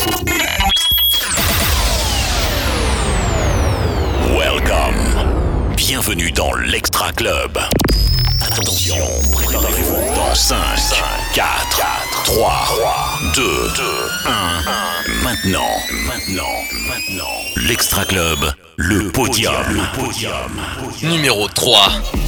Welcome. Bienvenue dans l'Extra Club. Attention, préparez-vous dans 5, 4, 3, 2, 1. Maintenant. L'Extra Club, le podium. Numéro 3.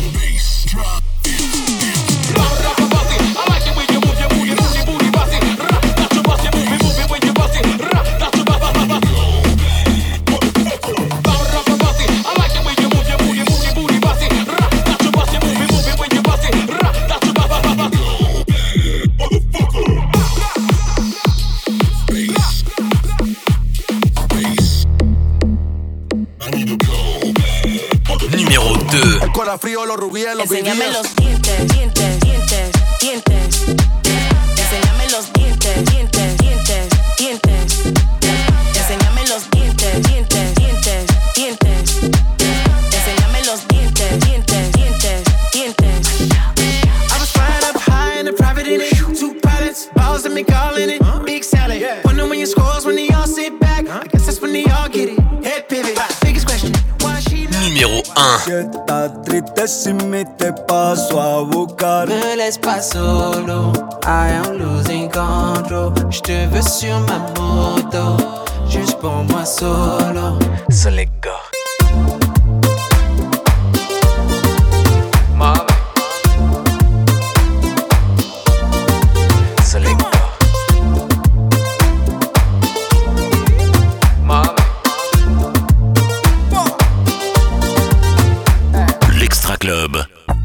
Numéro 2. El corazón frío, los rubíes, los Enséñame BBS. los dientes, dientes, dientes, dientes. Enséñame los dientes, dientes, dientes, dientes. Enséñame los dientes, dientes, dientes, dientes. Enséñame los dientes, dientes, dientes, dientes. I was flying up high in a private in it. 2 pilots, balls and me calling it. Big salad. Wonder when your scores when they all sit back. I guess that's when they all get it. Head pivot. Biggest question, why she not? Numéro 1. Si estás triste sin mí te paso a buscar. Me laisse pas solo, I am losing control. J'te veux sur ma moto, juste pour moi solo. So let go. Mama. So let go. Mama. L'Extra Club.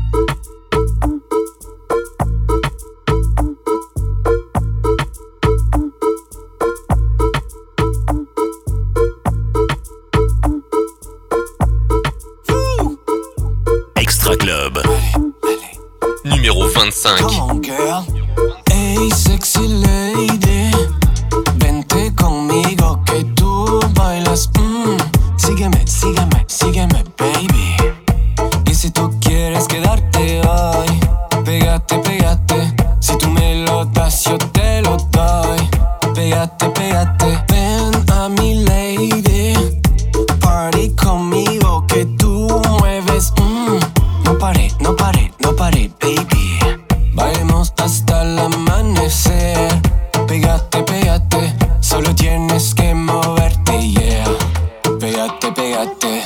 Extra Club. Numéro 25. Come on, girl. Hey, sexy lady, vente conmigo que tú bailas. Sígueme, sígueme, sígueme, baby. Y si tú quieres quedarte hoy, pégate, pégate. Si tú me lo das, yo te lo doy. Pégate, pégate. Ven a mi lady, party conmigo que tú mueves. No pare, no pare, no pare, baby. Bailemos hasta el amanecer. Pégate, pégate. Solo tienes que moverte, yeah. Pégate, pégate.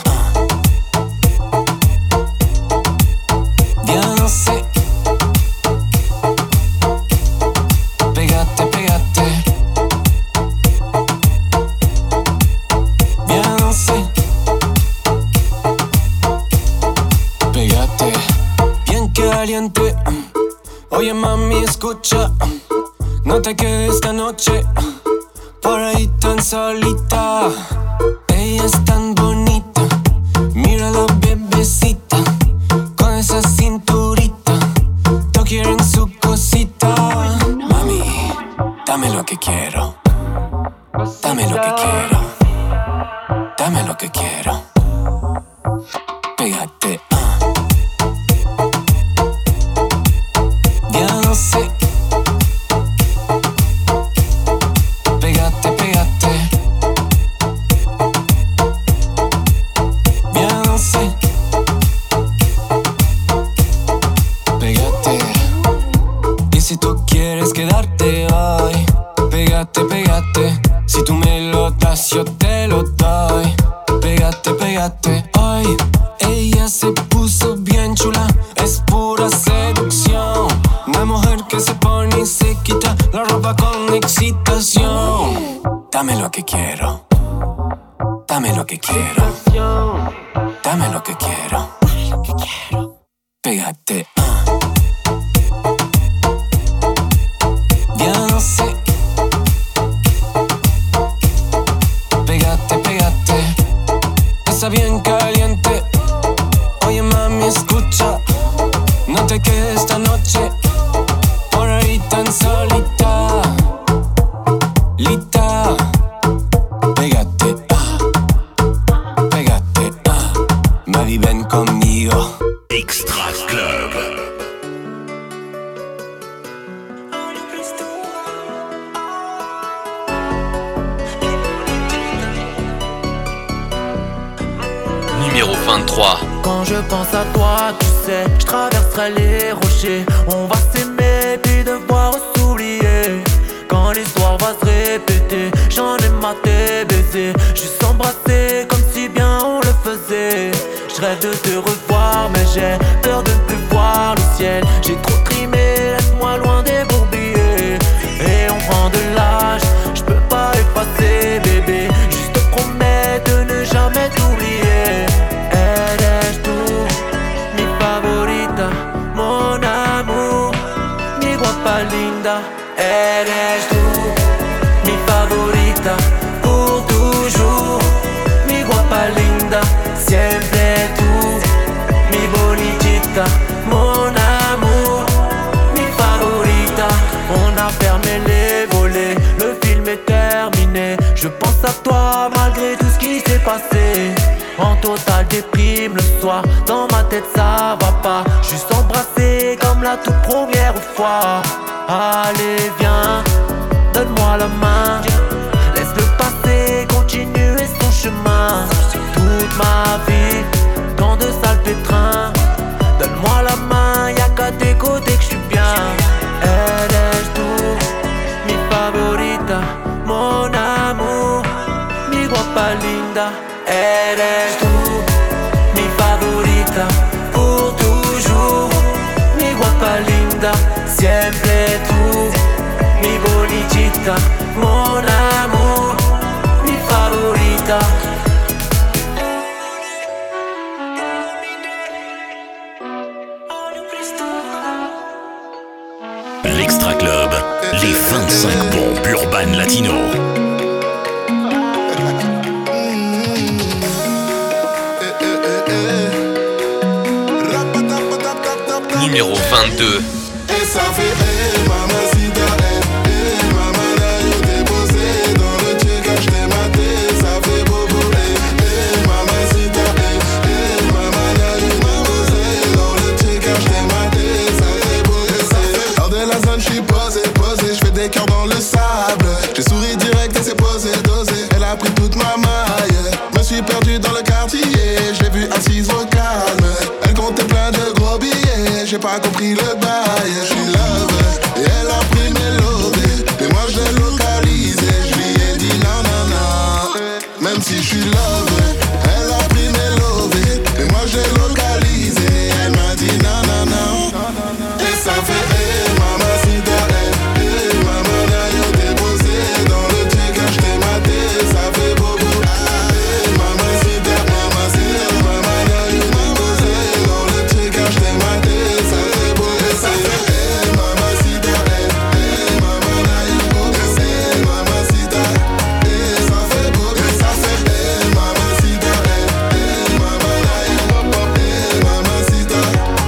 Ya no sé. Pégate, pégate. Ya no sé. Pégate. Bien caliente. Oye, mami, escucha. No te quedes esta noche por ahí tan solita. Ella es tan bonita. Mira la bebecita con esa cinturita. Todos quieren su cosita. Mami, dame lo que quiero. Dame lo que quiero. Dame lo que quiero. Pégate. Ya no sé. Pégate, pégate. Ya no sé. Pégate. Y si tú quieres quedarte hoy, pégate, pégate. Si tú me lo das, yo te lo doy. Pégate, pégate. Ay, ella se puso bien chula. Es pura seducción. Una mujer que se pone y se quita la ropa con excitación. Dame lo que quiero. Dame lo que quiero. Dame lo que quiero. Pégate. Ya no sé. Pégate, pégate. Está bien caliente. Oye, mami, escucha. No te quedes esta noche por ahí tan solita. Lita. Pégate, pégate, Mari, ven conmigo. Extra Club. numéro 23. Quand je pense à toi, tu sais, je traverserai les rochers. On va s'aimer puis devoir s'oublier. Quand l'histoire va se répéter, j'en ai maté baiser. Juste embrasser comme si bien on le faisait. Je rêve de te revoir mais j'ai peur de ne plus voir le ciel. J'ai trop trimé, laisse-moi loin des bourbiers. Et on prend de l'âge, je peux pas effacer bébé. Juste te promets de ne jamais t'oublier. Eres tú, mi favorita, mon amour, mi guapa linda. Eres tú, mi favorita, pour toujours, mi guapa linda, siempre tú, mi bonitita, mon amour, mi favorita. On a fermé les volets, le film est terminé. Je pense à toi malgré tout ce qui s'est passé. En total déprime le soir, dans ma tête ça va pas. Juste embrasser comme la toute première fois. Allez viens, donne-moi la main. Laisse le passé continuer son chemin. Toute ma vie, dans de sales pétrins. Donne-moi la main, y'a qu'à tes côtés que je suis bien. Eres tú, mi favorita, mon amour, mi guapa linda. Eres tú, mi favorita, pour toujours, mi guapa linda, siempre tú, mi bonitita, mon amour, mi favorita. L'Extra Club, les 25 bombes urbaines latino. Numéro 22. Et ça fait mamacita, mamana, yo t'ai posé dans le check, je t'ai maté, ça fait bobo, mamacita, mamana, yo t'ai posé dans le check, je t'ai maté, ça fait bobo. Hors de la zone, j'suis posé, j'fais des cœurs dans le sable. J'ai souri direct et c'est posé, dosé. Elle a pris toute ma maille. Me suis perdu dans le quartier, j'ai vu assise au calme. Elle comptait plein de gros billets, j'ai pas compris le bail. J'suis love, et elle a pris mes lovés. Et moi je l'ai localisé, j'lui ai dit non, non, non. Même si j'suis love, elle a pris mes lovés. Et moi je l'ai localisé, elle m'a dit non, non, non. Et ça fait mamacita, mamana, yo t'ai posé dans le check, je t'ai maté, ça fait bobo. Mamacita, mamana, yo t'ai posé dans le check, je t'ai maté, ça fait bobo. Ça fait mamacita, mamana, yo t'ai posé, mamacita, ça fait bobo. Ça fait mamacita, mamana, yo t'ai posé, mamacita,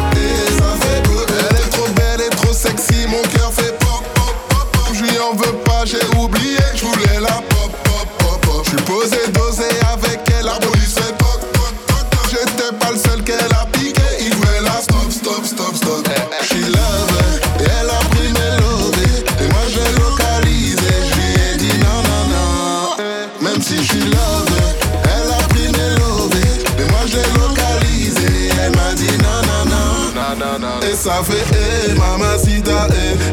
ça fait bobo. Elle est trop belle et trop sexy, mon cœur fait pop, pop, pop, pop. Je lui en veux pas, j'ai oublié, je voulais la pop, pop, pop, pop. Je suis posé, dosé avec elle, arboris fait toc, toc, toc, toc. J'étais pas le seul qu'elle a piqué, il voulait la stop, stop, stop, stop. Je suis love, et elle a pris mes lovés, et moi je l'ai localisé, je lui ai dit non, non, non. Même si je suis love, elle a pris mes lovés, et moi je l'ai localisé, elle m'a dit non, non, non. Et ça fait mamacita,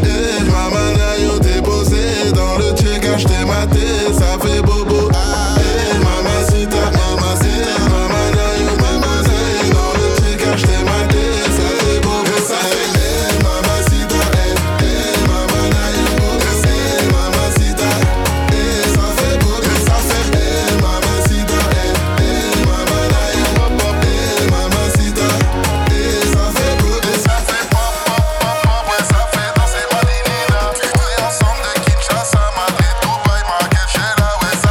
mamana, yo t'ai posé dans le check, je t'ai maté, ça fait bobo. Mamacita, mamacita, mamana, yo t'ai posé dans le check, je t'ai maté, ça fait bobo. Et ça fait mamacita, mamana, yo t'ai posé, mamacita, ça fait bobo. Et ça fait mamacita, mamana, yo t'ai posé, mamacita, ça fait bobo. Et ça fait pop, pop, pop, pop, ouais, ça fait danser ma linina. Puis ensemble de Kinshasa, Madrid, Dubaï, Marrakech, là, ouais,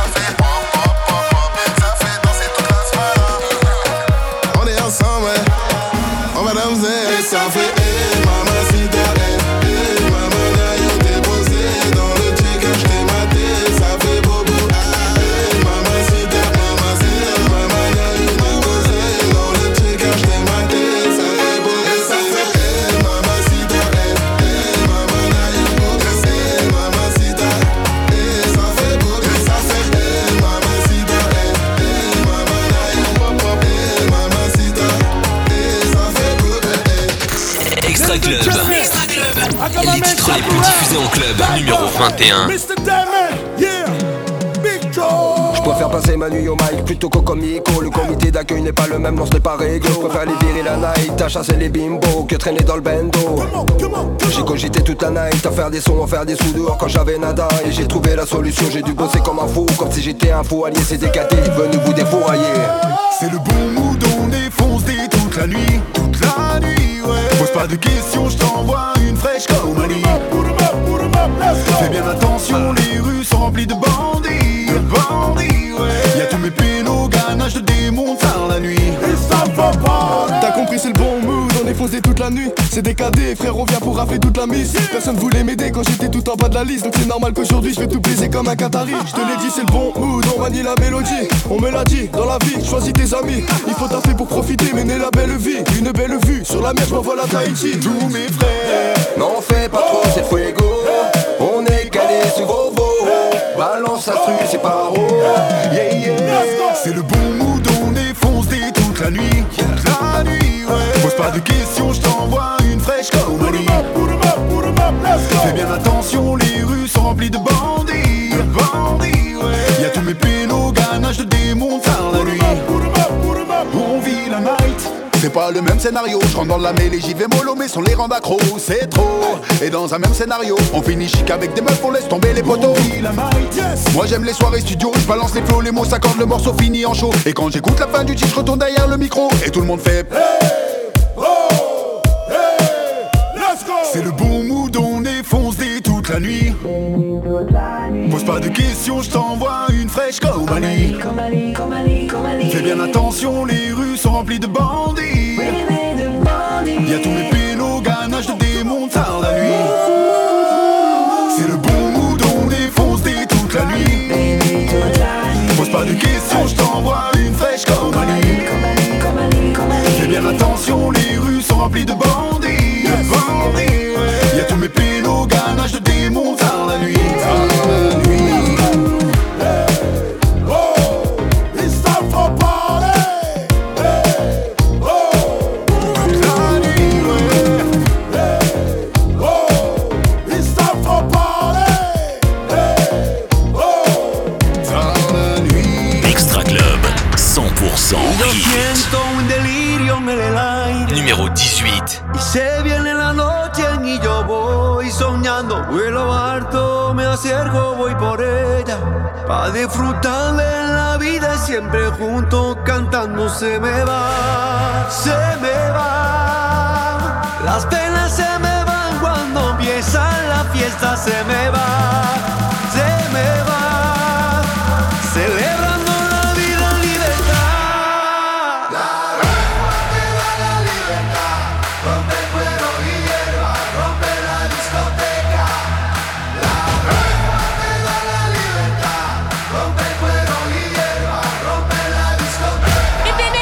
les plus diffusés en club. Numéro 21. Je préfère passer ma nuit au mic plutôt qu'au comico. Le comité d'accueil n'est pas le même, non ce n'est pas réglo. Je préfère les virer la night, à chasser les bimbos que traîner dans le bendo. J'ai cogité toute la night, à faire des sons, à faire des sous dehors quand j'avais nada. Et j'ai trouvé la solution, j'ai dû bosser comme un fou. Comme si j'étais un fou allié, c'est décaté, venu vous défourailler. C'est le bon mood, on défonce des toute la nuit, ouais. Pose pas de questions, je t'envoie une fraîche comme Ali. Fais bien attention, les rues sont remplies de bandits, ouais. Y'a tous mes pélos, ganache de démons tard la nuit. Et ça va pas. T'as compris, c'est le bon mood, on est foncé toute la nuit. C'est décadé, frère, on vient pour rafler toute la mise. Personne voulait m'aider quand j'étais tout en bas de la liste. Donc c'est normal qu'aujourd'hui je vais tout baiser comme un Qatari. Je te l'ai dit, c'est le bon mood, on manie la mélodie. On me l'a dit, dans la vie, choisis tes amis. Il faut taffer pour profiter, mener la belle vie. Une belle vue, sur la mer, je m'envole à Tahiti. Tous mes frères, non fais pas trop, c'est fuego. On est calé sur vos veaux. Balance instru, c'est pas haut. c'est le bon mood, on défonce des toute la nuit, ouais. Pose pas de questions, je t'envoie une fraîche comme Ali. Fais bien attention, les rues sont remplies de bandits, ouais. Y'a tous mes pélos, ganache de démons tard la nuit. On vit la night, c'est pas le même scénario. Je rentre dans la mêlée, j'y vais mollo, mais sans les rendre accro, c'est trop. Et dans un même scénario, on finit chic avec des meufs, on laisse tomber les poteaux. Moi j'aime les soirées studio, je balance les flots, les mots s'accordent, le morceau finit en show. Et quand j'écoute la fin du titre, je retourne derrière le micro et tout le monde fait c'est le bon mood, on défonce des toute la nuit. Pose pas de questions, je t'envoie une fraîche comme Ali. Fais bien attention, les rues sont remplies de bandits. Y'a tous mes pélos, ganache de démons tard la nuit. C'est le bon mood, on défonce des toute la nuit. Pose pas de questions, je t'envoie une fraîche comme Ali. Fais bien attention, les rues sont remplies de bandits, ouais. Y'a tous mes pélos, ganache de démons tard la nuit. Numéro 18. Y se viene la noche y yo voy soñando. Vuelo alto, me acerco, voy por ella. Pa' disfrutar de la vida siempre juntos cantando. Se me va, las penas se me van cuando empieza la fiesta. Se me va, celebrando la vida en libertad. Rompe el cuero y hierba, rompe la discoteca. La rumba te da la libertad. Rompe el cuero y hierba, rompe la discoteca. Y tiene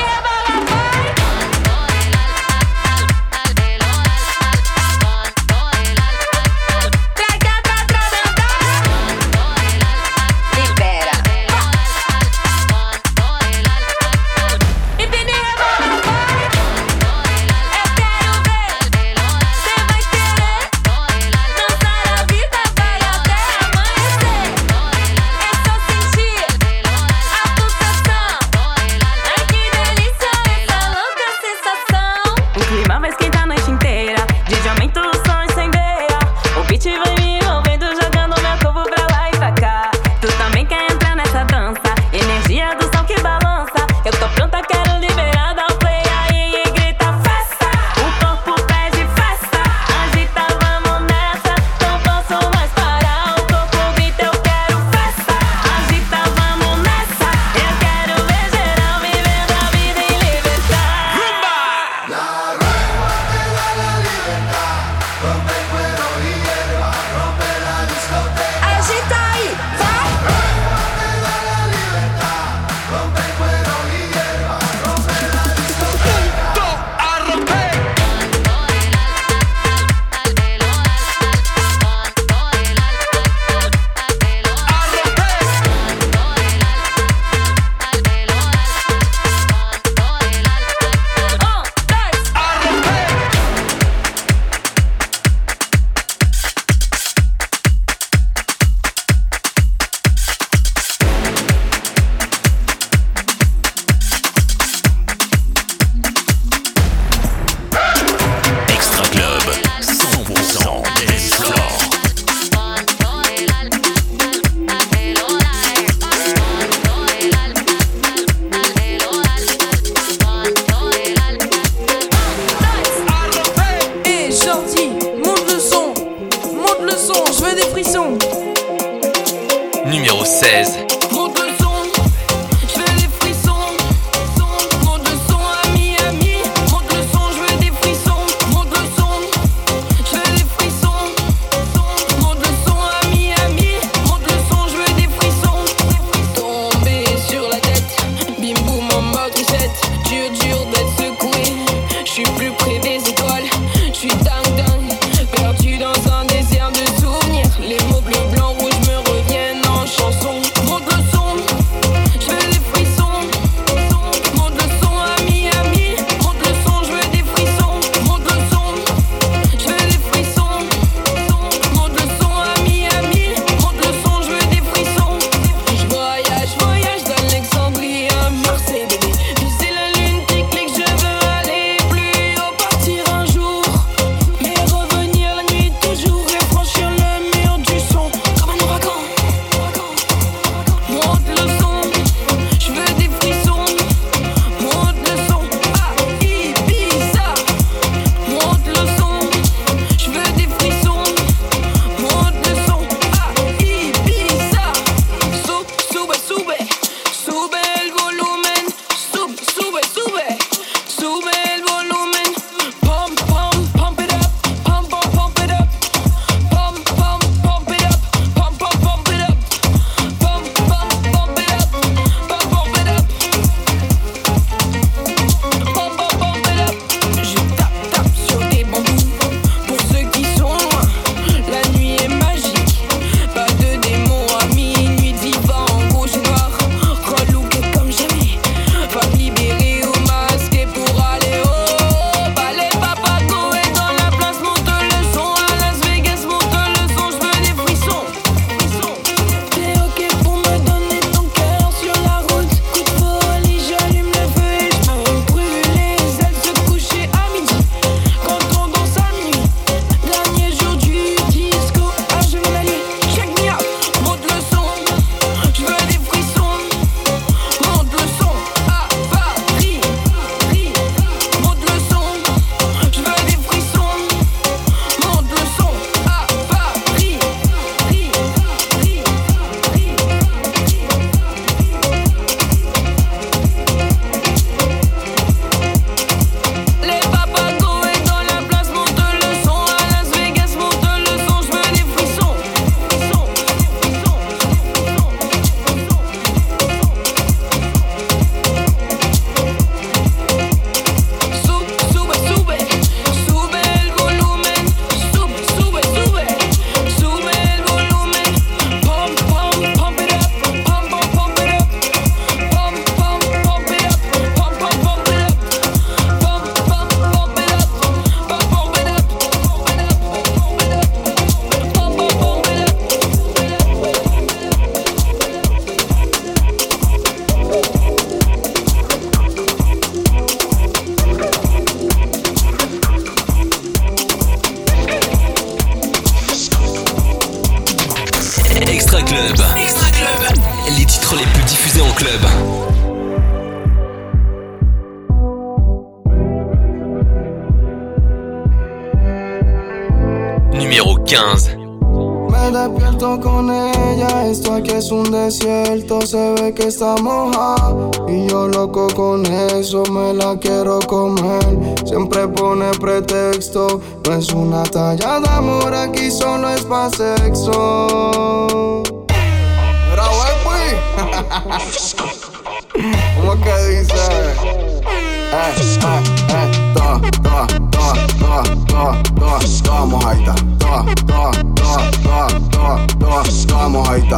club. Numéro 15. Me despierto con ella, esto aquí es un desierto, se ve que está mojada y yo loco con eso, me la quiero comer. Siempre pone pretexto, no es una talla de amor, aquí solo es pa' sexo. Pero pues, ¿cómo que dice? Toda mojadita, toda mojadita,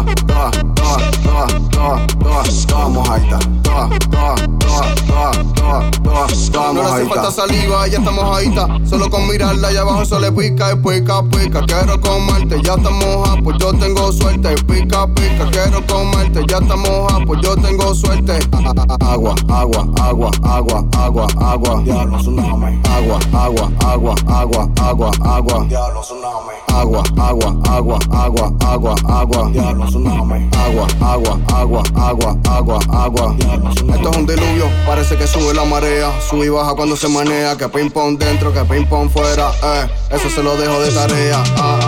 no le hace falta saliva, ya está mojadita. Solo con mirarla allá abajo se le pica y pica, pica. Quiero comerte, ya está moja, pues yo tengo suerte. Pica, pica, quiero comerte, ya está moja, pues yo tengo suerte. Agua, agua, agua, agua, agua, agua. Diablo, tsunami. Agua, agua, agua, agua, agua, agua. Diablo, tsunami. Agua, agua, agua, agua, agua, agua. Diablo, tsunami. Agua, agua, agua, agua, agua, agua. Diablo, tsunami. Esto es un diluvio, parece que sube la marea. Sube y baja cuando se menea. Que ping pong dentro, que ping pong fuera. Eso se lo dejo de tarea.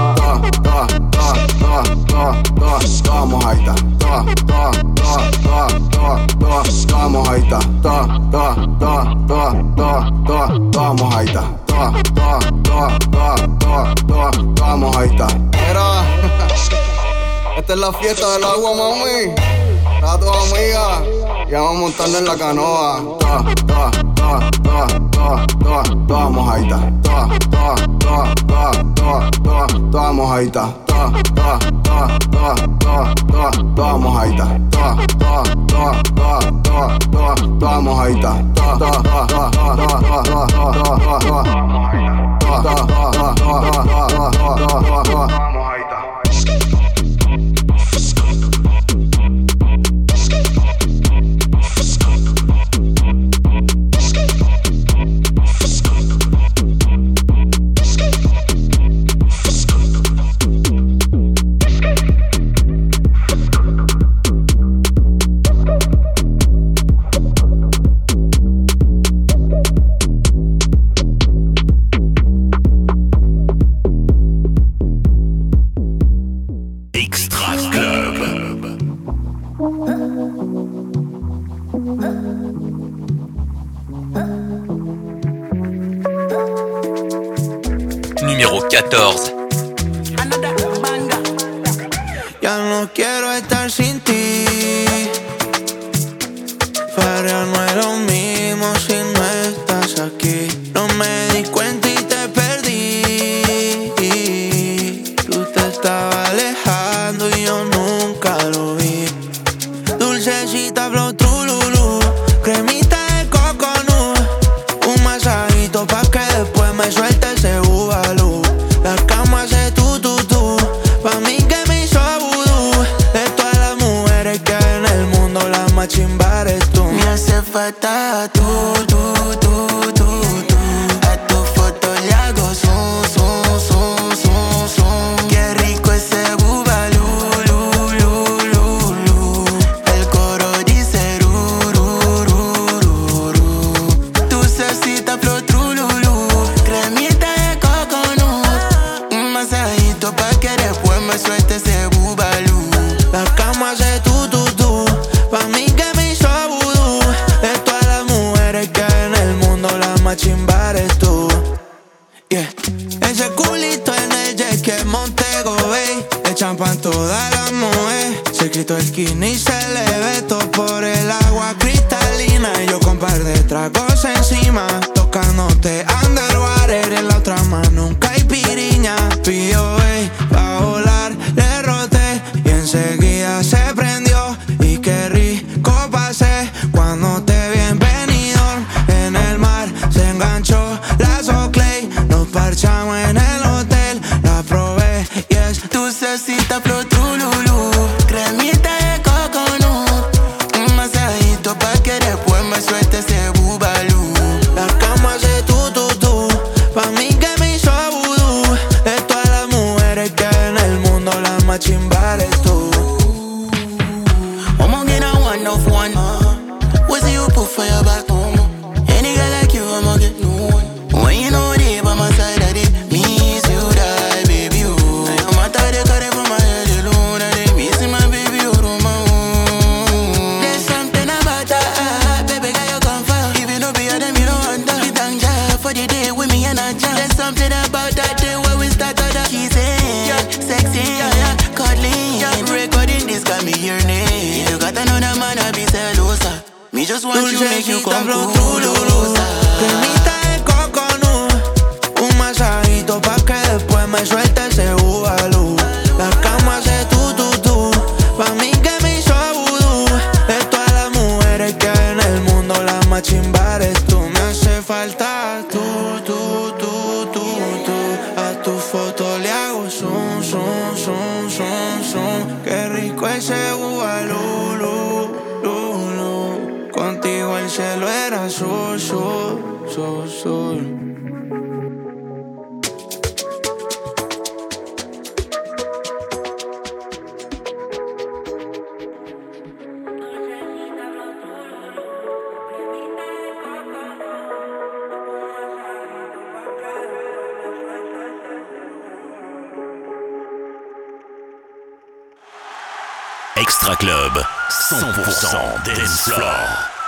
Toda mojadita. Toda mojadita. Toda mojadita. Toda mojadita. Mira, esta es la fiesta del agua, mami. Para tus amigas, y vamos a montarnos en la canoa. Toda mojadita. Toda mojadita. Toda mojadita. Toda mojadita. Numéro 14. Ya no quiero estar sin ti. Para no es lo mismo si no estás aquí. No me di cuenta y te perdí. Tú te estabas alejando y yo nunca lo vi. Dulcecita flow trululú, cremita de coconut, un masajito pa' que después me suelte ese bubalú. La cama hace tú, pa' mí que me hizo vudú. De todas las mujeres que hay en el mundo, la más chimba eres tú. Me hace falta tú. A tu foto le hago zoom. Qué rico ese bubalú. El coro dice dulcecita flor trululú, cremita de coconut, un masajito pa' que después me suelte ese bubalú. La cama hace tú, pa' mí que me hizo vudú. De todas las mujeres que hay en el mundo, la más chimba eres tú. Yeah. Ese culito en el jet que Montego Bay, le champan todas las mujeres. Se quitó el skinny y se le ve todo por el agua cristalina. Y yo con par de tragos encima, tocándote underwater. En la otra mano un caipiriña. P.O.A. pa' volar, le roté y enseguida se prendió. Y qué rico pasé cuando te vi en Benidorm. En el mar se enganchó la Soclay. Nos parchamos en el hotel, la probé y es dulcecita flor trululú, cremita de coconut, un masajito pa' que después me suelte ese bubalú. La cama hace tú, pa' mí que me hizo vudú. De todas las mujeres que hay en el mundo, la más chimba eres tú. one of one. What's it you put for your back? Any girl like you, I'ma get no one. When you know they by my side, I did miss you, die, baby. Oh, no matter they cut it from my head alone, I did missing my baby, oh, my own. There's something about that, baby, girl, you come for. If you know be them, you don't want that. We thank God for the day with me and I jam. There's something about that day where we start on the kissing, sexy, cuddling, recording this got me your name. You got another man, I be celosa. Me just want you, make you come culosa. Cremita de coconut, un masajito pa' que después me suelte ese búbalo. La cama hace tú, pa' mí que me hizo vudú. De todas las mujeres que hay en el mundo, la más chimba eres tú. Me hace falta tú. A tu foto le hago son. Qué rico ese búbalo. Contigo el cielo era azul. Extra Club, 100% dance floor.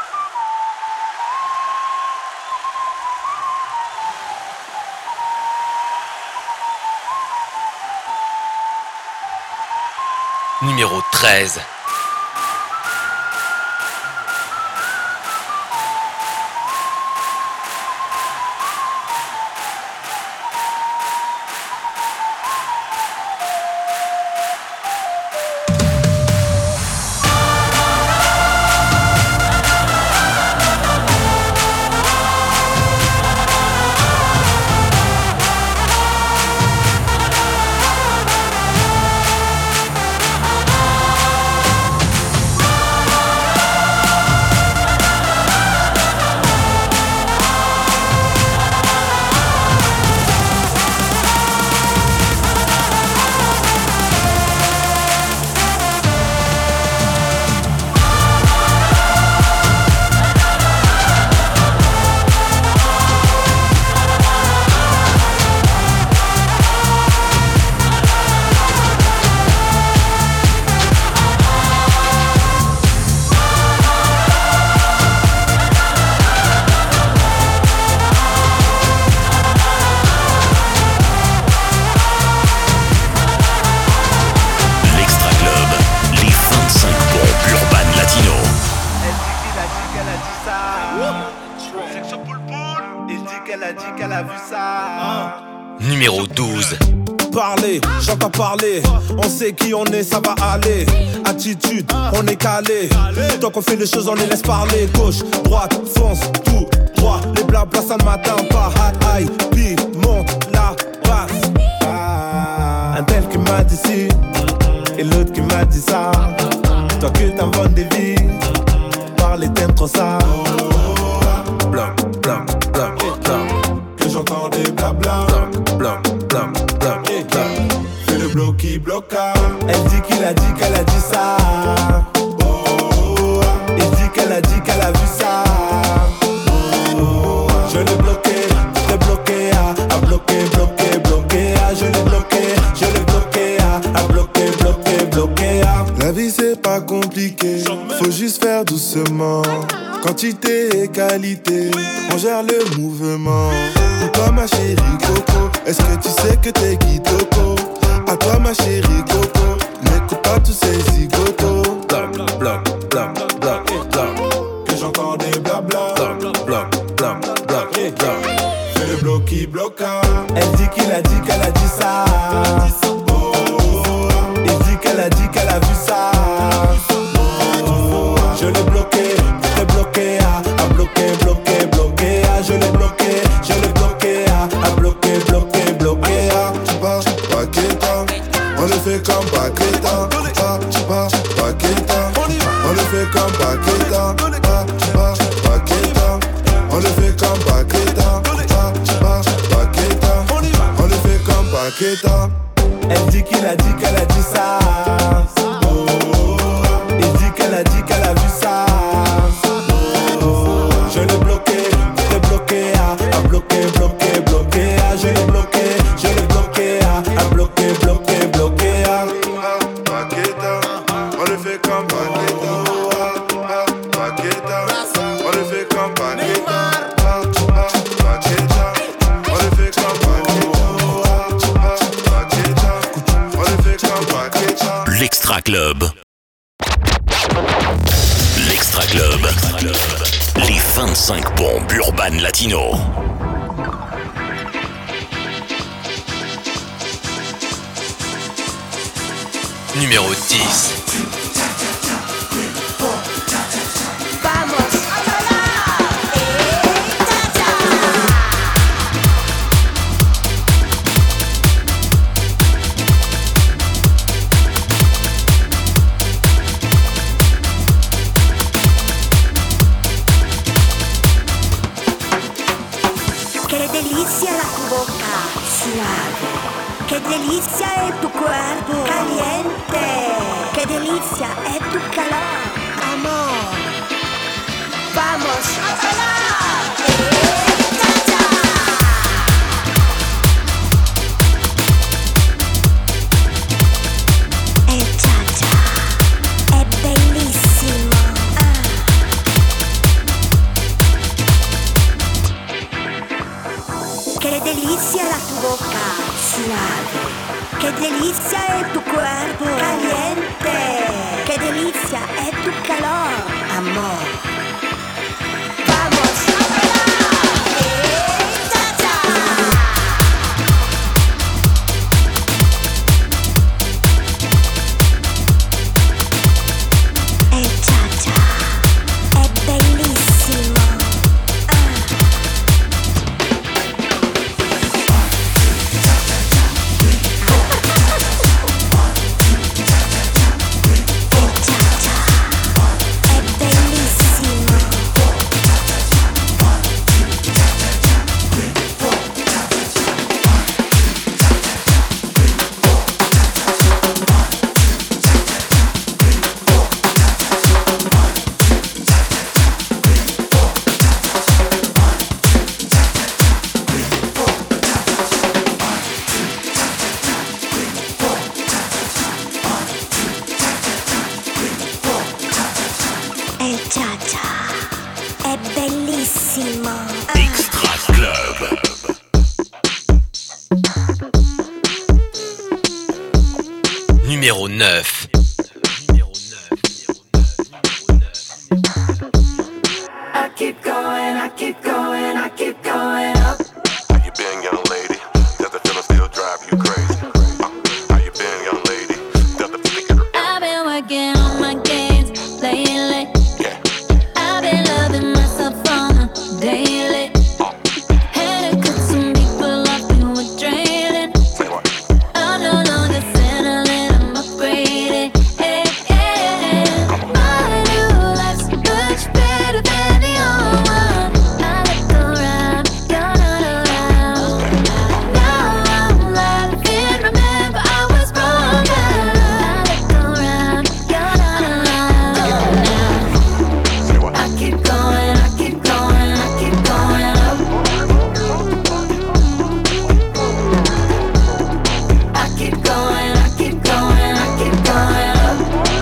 Numéro 13. Numéro 12. Parler, j'entends parler, on sait qui on est, ça va aller. Attitude, on est calé. Tant qu'on fait les choses, on les laisse parler. Gauche, droite, fonce, tout droit. Les blablas, ça ne m'atteint pas. Aïe, puis monte la passe. Un tel qui m'a dit ci, et l'autre qui m'a dit ça. Toi que t'inventes des vies, parler t'aimes trop ça. Bloc, bloc, bloc, bloc. Que j'entends des blabla. Bloc, bloc, bloc, bloc. Fais le bloc qui bloqua. Elle dit qu'il a dit qu'elle a dit ça. Il dit qu'elle a dit qu'elle a vu ça. Je l'ai bloqué, à bloqué, bloqué, bloqué, à je l'ai bloqué, à bloqué, bloqué, à. La vie c'est pas compliqué, faut juste faire doucement. Quantité et qualité, on gère le mouvement. Pour toi ma chérie Coco, est-ce que tu sais que t'es Kitoko? À toi ma chérie Coco, n'écoute pas tous ces zigotos. Bloc, bloc, bloc, bloc, bloc. Que j'entends des blabla. Bloc, bloc, bloc, bloc, bloc. Fais le bloc qui bloqua. Elle dit qu'il a dit qu'elle a dit ça. Il dit qu'elle a dit qu'elle a vu ça. Je l'ai bloqué, à bloqué, bloqué, bloqué, à je l'ai bloqué, à bloqué, bloqué, bloqué, à. Tu pars, Paqueta, on le fait comme Paqueta. Tu pars, Paqueta, on le fait comme Paqueta. Tu pars, Paqueta, on le fait comme Paqueta. Tu pars, Paqueta, on le fait comme Paqueta. Elle dit qu'il a dit qu'elle a dit ça. Il dit qu'elle a dit qu'elle a vu ça. Extra Club. Les 25 bombes urbaines latino. Numéro 10. Qué delicia es tu cuerpo caliente. Qué delicia es tu calor, amor. Vamos a bailar. Cha-cha. È bellissimo. Qué delicia la tu boca suave. Qué delicia es tu cuerpo caliente. Qué delicia es tu calor, amor. Vamos a bailar. Cha-cha. Cha-cha. È bellissimo. È bellissimo. Extra Club. Numéro 9. I keep going, I keep going, I keep going up. How you been, young lady? Does the feeling still drive you crazy? How you been, young lady? Does the feeling get around? I've been working on my gains lately. I've been loving myself on a daily. Had to cut some people off who were draining. I'm no longer settling, I'm upgrading. My new life's much better than the old one. I look around, you're not around. Now I'm laughing, remember I was wrong. I look around, you're not around. I keep going, I keep going, I keep going up. I keep going, I keep going, I keep going up.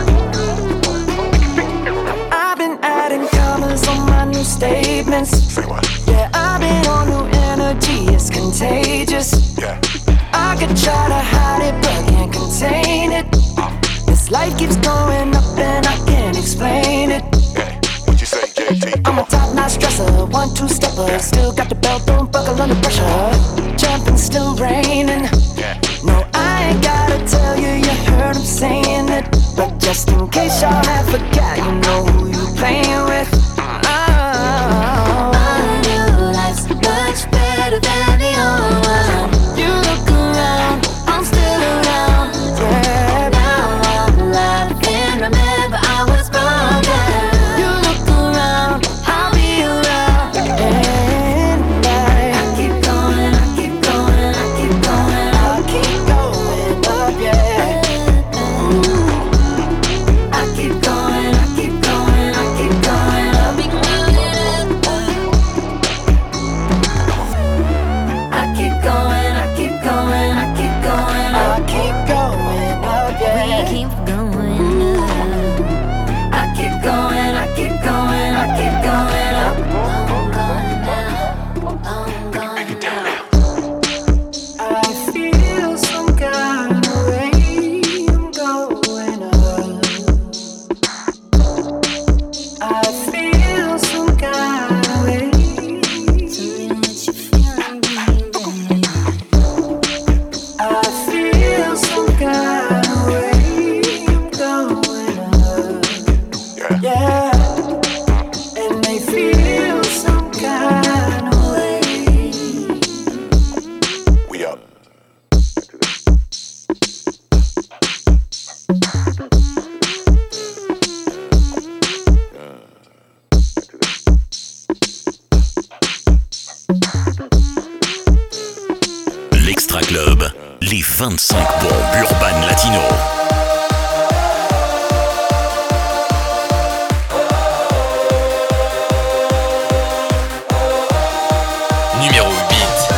I've been adding commas on my new statements. Yeah, I've been on new energy, it's contagious. I could try to hide it, but can't contain it. This life keeps going up and I can't explain it. What you say, JT? I'm a top-notch dresser, 1-2-stepper. Still got the belt, don't buckle under pressure. Jumping, still raining. No, I ain't gotta tell you, you heard him saying it. But just in case y'all have forgot, you know who you playing with. My new life's much better than the old one. You look around, I'm still around. Yeah. Now I'm laughing, remember I was wrong. You look around, I'll be around. And I keep going, I keep going, I keep going up. I'll keep going up, yeah. I keep going, I keep L'Extra Club, les 25 bombes urbaines latino. Numéro 8.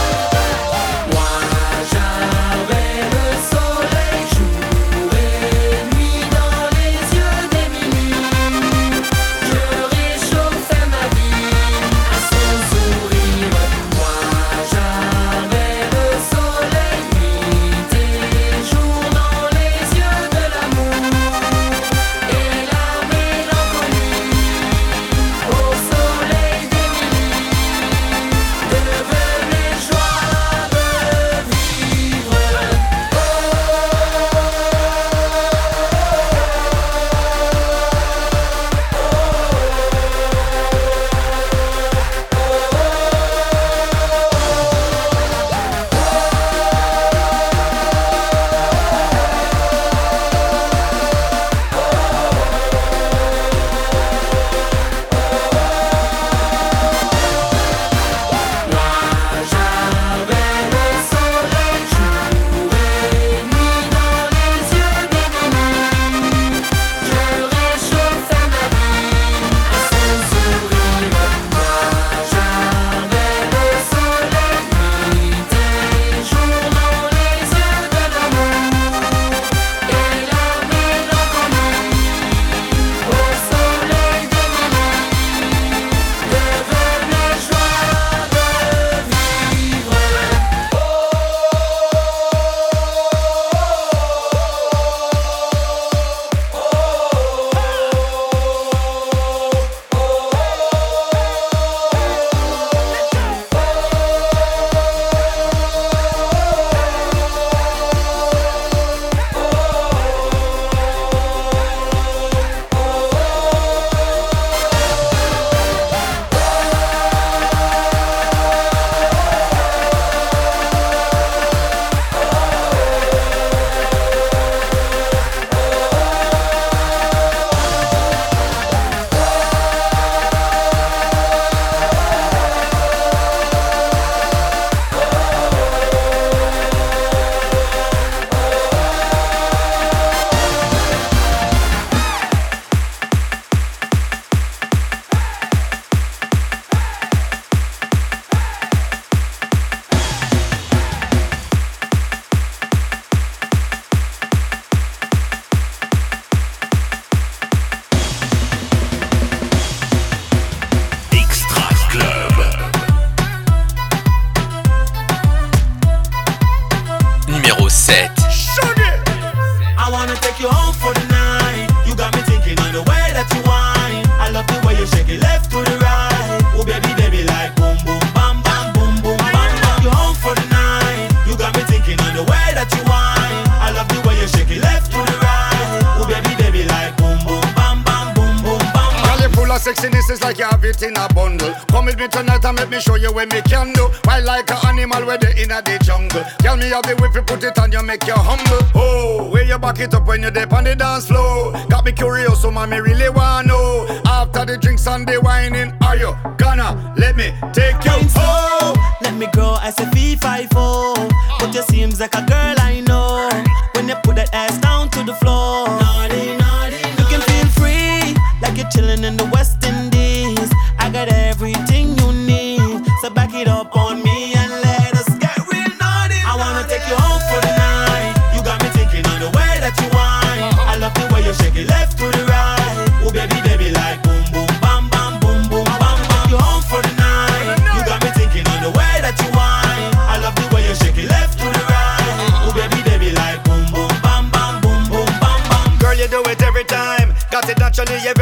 Sexiness is like you have it in a bundle. Come with me tonight and let me show you what me can do. Wild like an animal where they in the jungle. Tell me how the whip you put it on you make you humble. Oh, where you back it up when you dip on the dance floor. Got me curious, so mommy really wanna know. After the drinks and the whining, are you gonna let me take you home? Let me grow as a V54. But you seems like a girl I know. When you put that ass down to the floor. Naughty, naughty, you can feel free, like you're chilling in the West Indies. I got everything you need, so back it up on me and let us get real naughty. I wanna take you home for the night. You got me thinking on the way that you whine. I love the way you shake it left to the right. Oh baby, baby, like boom, boom, bam, bam, boom, boom, bam, bam. You home for the night. You got me thinking on the way that you whine. I love the way you shake it left to the right. Oh baby, baby, like boom, boom, bam, bam, boom, boom, bam, bam. Girl, you do it every time. Got it naturally, you're very easy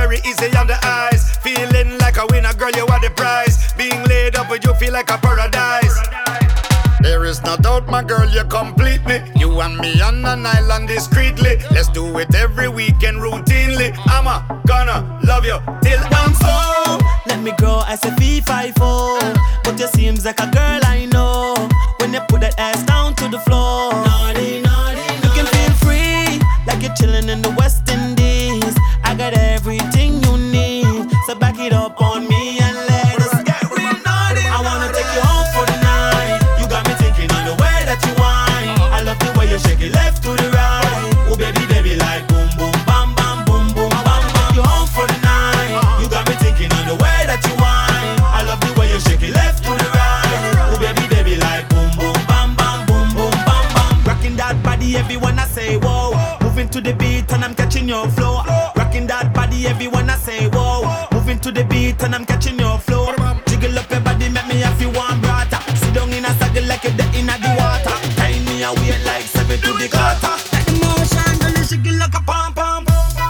under eyes. Feeling like a winner, girl, you are the prize. Being laid up with you feel like a paradise. There is no doubt, my girl, you complete me. You and me on an island discreetly. Let's do it every weekend routinely. I'm gonna love you till I'm so. Let me grow as a V54. But you seems like a girl I know. When you put that ass down to the floor. Naughty, naughty, naughty. You can feel free, like you're chilling in the West Indies. I got everything you need, so back it up on me and let us get real naughty. I wanna take you home for the night. You got me thinking on the way that you whine. I love the way you shake it left to the right. Oh baby, baby, like boom, boom, bam, bam, boom, boom, bam, bam. You home for the night. You got me thinking on the way that you whine. I love the way you shake it left to the right. Oh baby, baby, like boom, boom, bam, bam, boom, boom, bam, bam. Rocking that body, everyone I say whoa. Moving to the beat and I'm catching your flow. Rocking that body, everyone I say whoa. Moving to the beat and I'm catching your flow. Jiggle up your body, make me have you one brata. Sit down in a saddle like you're dead in the water. Tie me a weight like 7 to the quarter. Take the motion, girl, you shake it like a pom pom.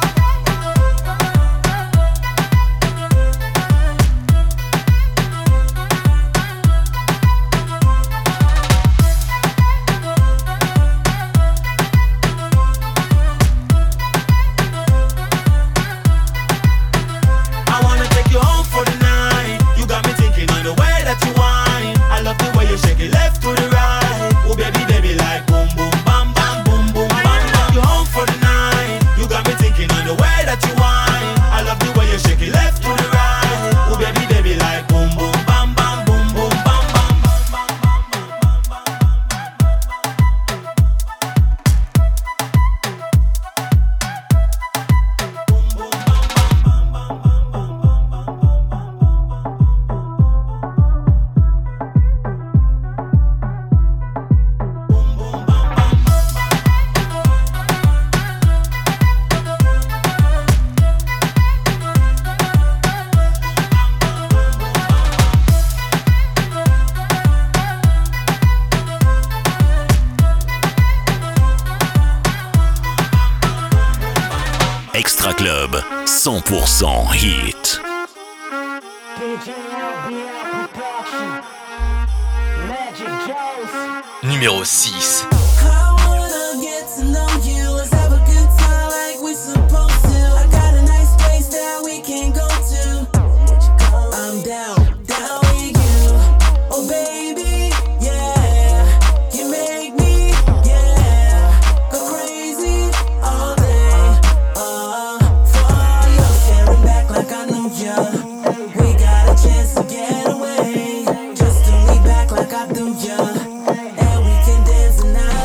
Shake it left to the right. Oh baby, baby, like boom, boom, bam, bam, boom, boom, bam, bam. You home for the night. You got me thinking on the way that you whine. I love the way you shake it left to the right. Oh baby, baby, like boom, boom, bam, bam, boom, boom, bam, bam. Extra Club, 100% hit. Numéro 6. Just to me back like I do ya, and we can dance tonight.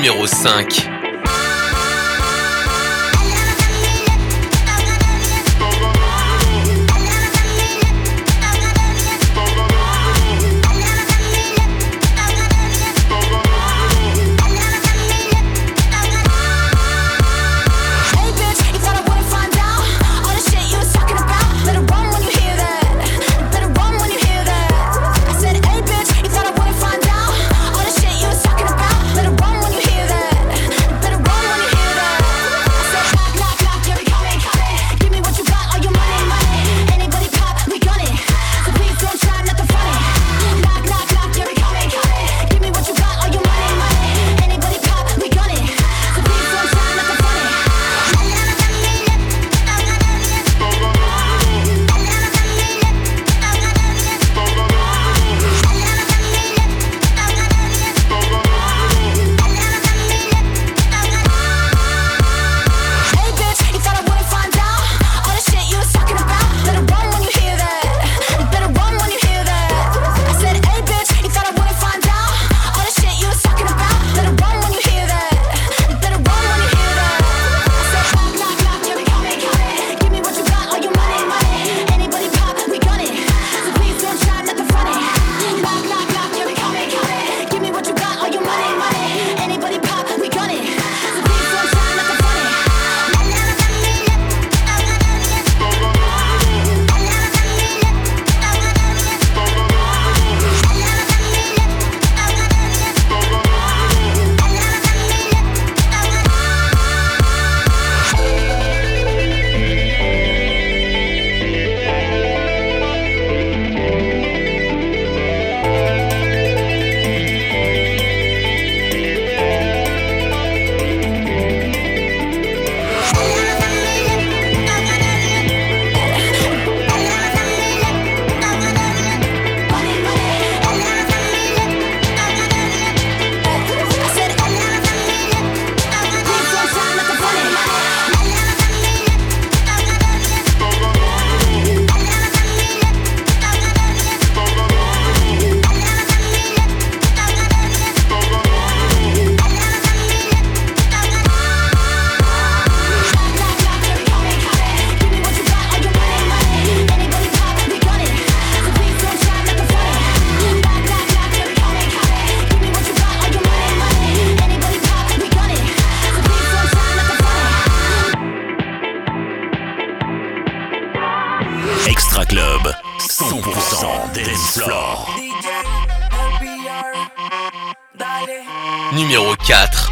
Numéro 5. Extra Club, 100% dance floor. Numéro 4.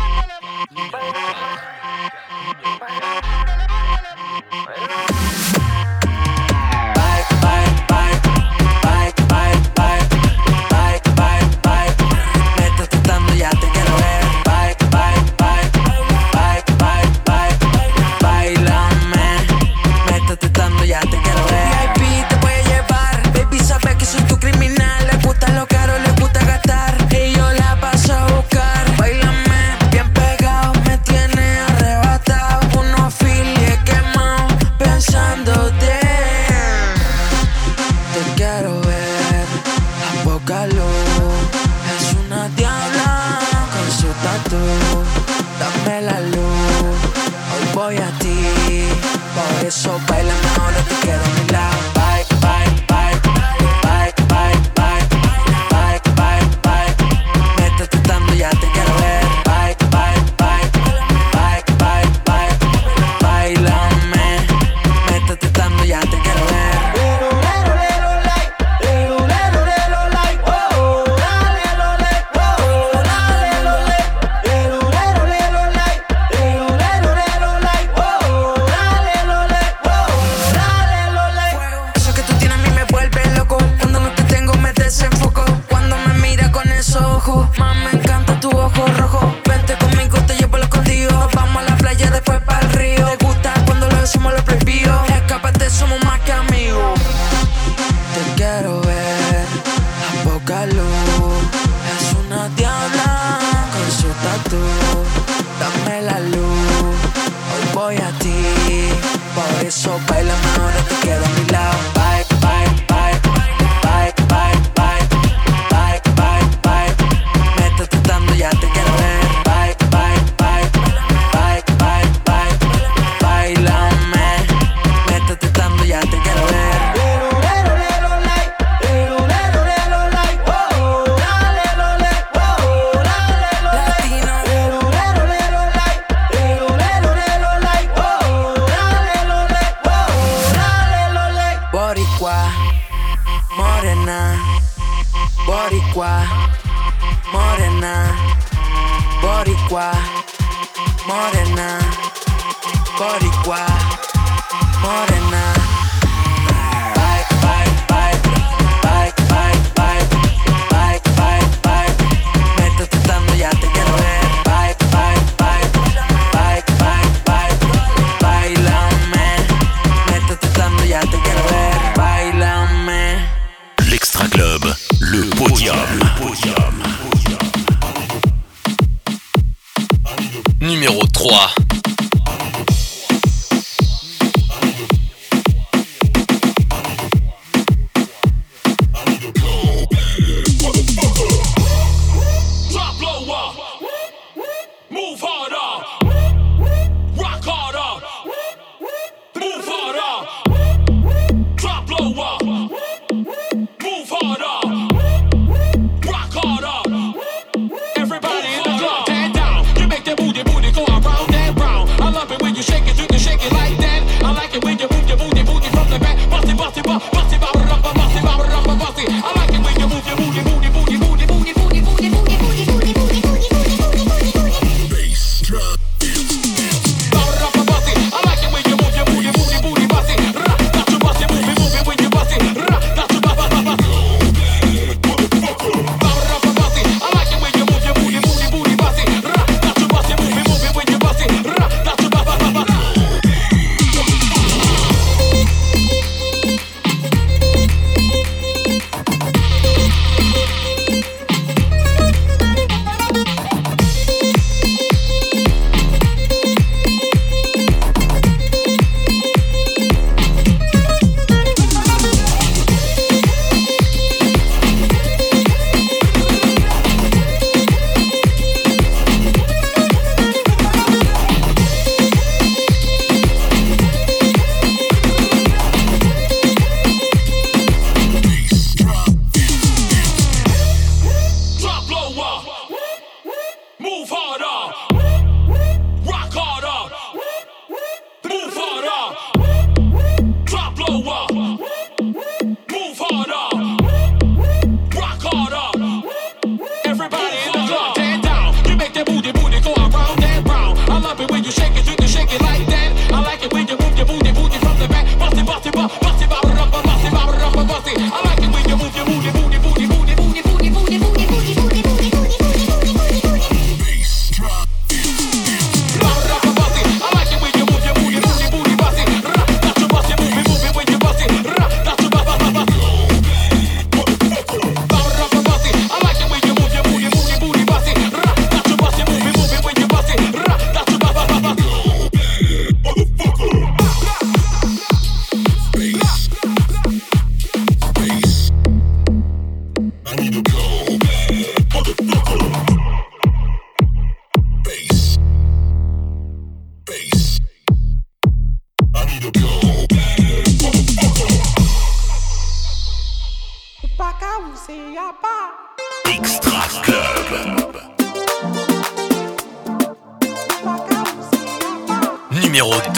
Métete dando, ya te quiero ver. Bye, bye. morena, boricua, morena, boricua, morena, boricua, morena. Bye, bye, bye, bye, bye, bye, bye, bye, bye. Métete tanto, ya te quiero ver. Bye, bye, bye, bye, bye, bye, bailame. Métete tanto, ya te quiero ver. Bailame. L'Extra Club, le podium. Numéro 3. Extra Club. Numéro 2.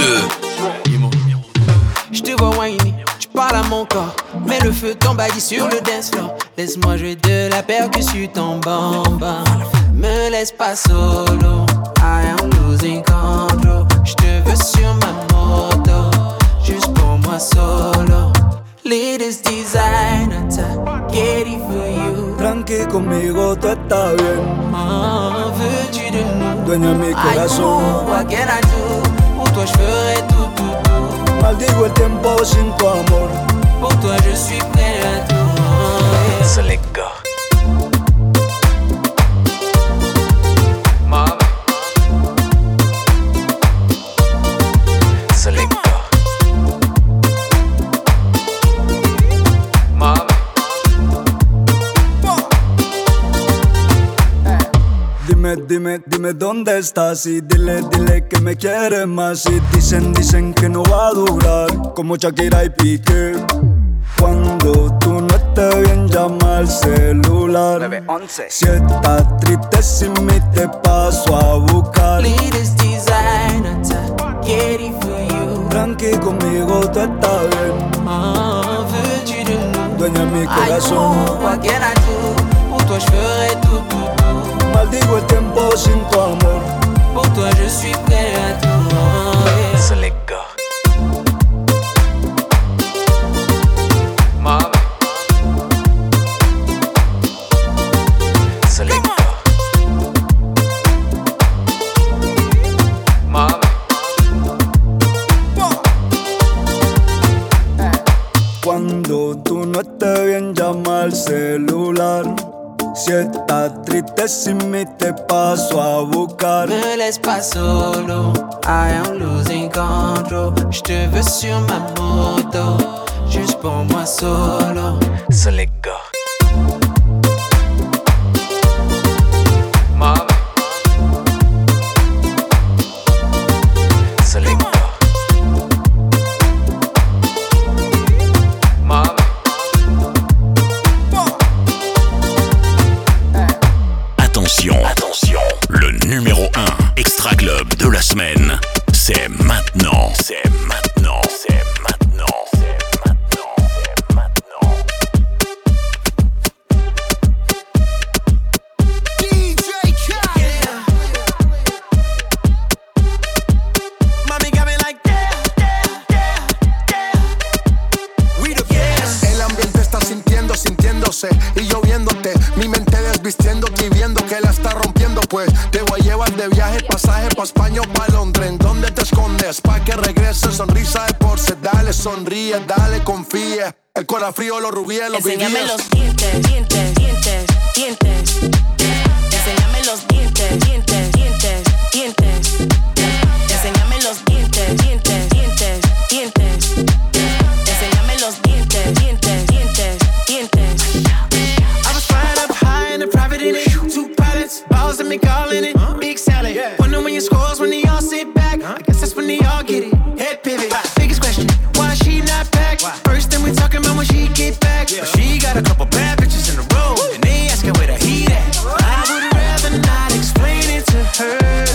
Je te vois whiny, tu parles à mon corps, mets le feu t'embadis sur le dance floor. Laisse-moi jouer de la percussion en bamba. Me laisse pas solo, I am losing control. Je te veux sur ma moto, juste pour moi solo. Latest designer, get it for you. Tranqui conmigo, tú estás bien. Veux-tu de nous? Dueña mi corazón. I know, what can I do? Pour toi je ferai tout, tout, tout. Maldigo el tiempo sin tu amor. Pour toi je suis prêt à tout. Selecta. Dime dónde estás y dile que me quieres más. Y dicen que no va a durar como Shakira y Piqué. Cuando tú no estés bien llama al celular. 911. Si estás triste sin mí te paso a buscar. Latest designer, get it for you. Tranqui conmigo tú estás bien. Veux-tu de nous? dueña de mi corazón. What can I do? Pour toi je ferai tout, tout, tout. Maldigo el tiempo sin tu amor. Pour toi je suis prêt à tout. Yeah. So let go. Mama. So let go. Mama. Cuando tú no estés bien, llama al celular. Si estás triste sin mí, te paso a buscar. Me laisse pas solo, I am losing control. Je te veux sur ma moto, juste pour moi solo. So let go. Mama. So let go. Mama. Attention, attention, le numéro 1 Extra Club de la semaine, c'est maintenant, c'est maintenant, c'est maintenant, c'est maintenant, c'est maintenant. DJ Khaled. Mommy got me like We the best. El ambiente está sintiéndose y yo viéndote. Mi mente desvistiéndote y viendo que la está rompiendo. Pues te voy a llevar de viaje, pasaje pa' España o pa' Londres. ¿En dónde te escondes? Pa' que regreses, sonrisa de porce. Dale, sonríe, dale, confía. El corazón frío, los rubíes, los vivíes. Enséñame los dientes, dientes, dientes, dientes. Enséñame los dientes, dientes, dientes, dientes. Enséñame los dientes, dientes, dientes, dientes. Enséñame los dientes, dientes, dientes, dientes. I was flying up high in a private in it. Two pilots, balls and me calling it. Big salad. Wonder when your scores when they all sit back. I guess that's when they all get it. Head pivot. Biggest question, why she not back? First thing we talking about when she get back. But she got a couple bad bitches in a row, and they asking where the heat at. I would rather not explain it to her.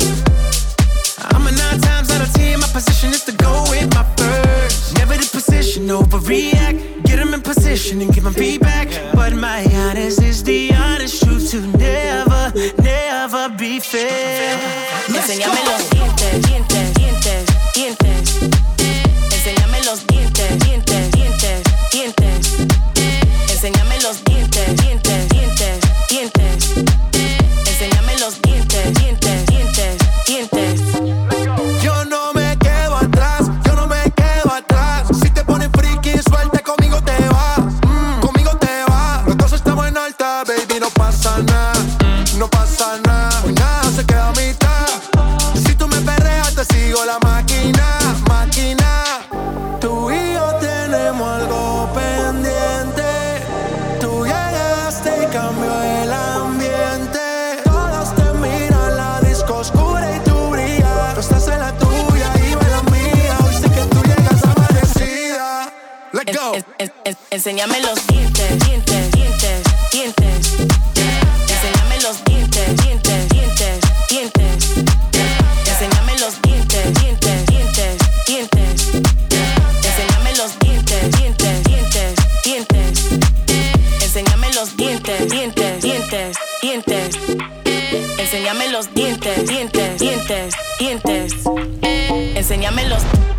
I'm a 9 times out of 10. My position is to go with my first. Never the position, overreact. Get them in position and give them feedback. But my honest is the honest truth to never, never be fair. Enséñame los dientes, dientes, dientes, dientes. Enséñame los dientes, dientes, dientes, dientes. Enséñame los dientes, dientes, dientes, dientes. Enséñame los dientes, dientes, dientes, dientes. Yo no me quedo atrás, yo no me quedo atrás. Si te pones friki, suelta, conmigo te vas, conmigo te vas. Los dos estamos en alta, baby, no pasa nada, no pasa nada. Hoy nada se queda a mitad. Si tú me perreas, te sigo la máquina, máquina. Tú y yo tenemos algo pendiente. Tú llegaste y cambió el ambiente. Todos te miran, la disco oscura y tú brillas. Tú estás en la tuya y yo en la mía. Hoy sé que tú llegas amanecida. Let's go. Enséñame los dientes, dientes, dientes, dientes. Enséñame los dientes, dientes, dientes, dientes. Enséñame los dientes, dientes, dientes, dientes. Enséñame los dientes, dientes, dientes, dientes. Enséñame los dientes, dientes, dientes, dientes. Enséñame los dientes, dientes, dientes, dientes. Enséñame los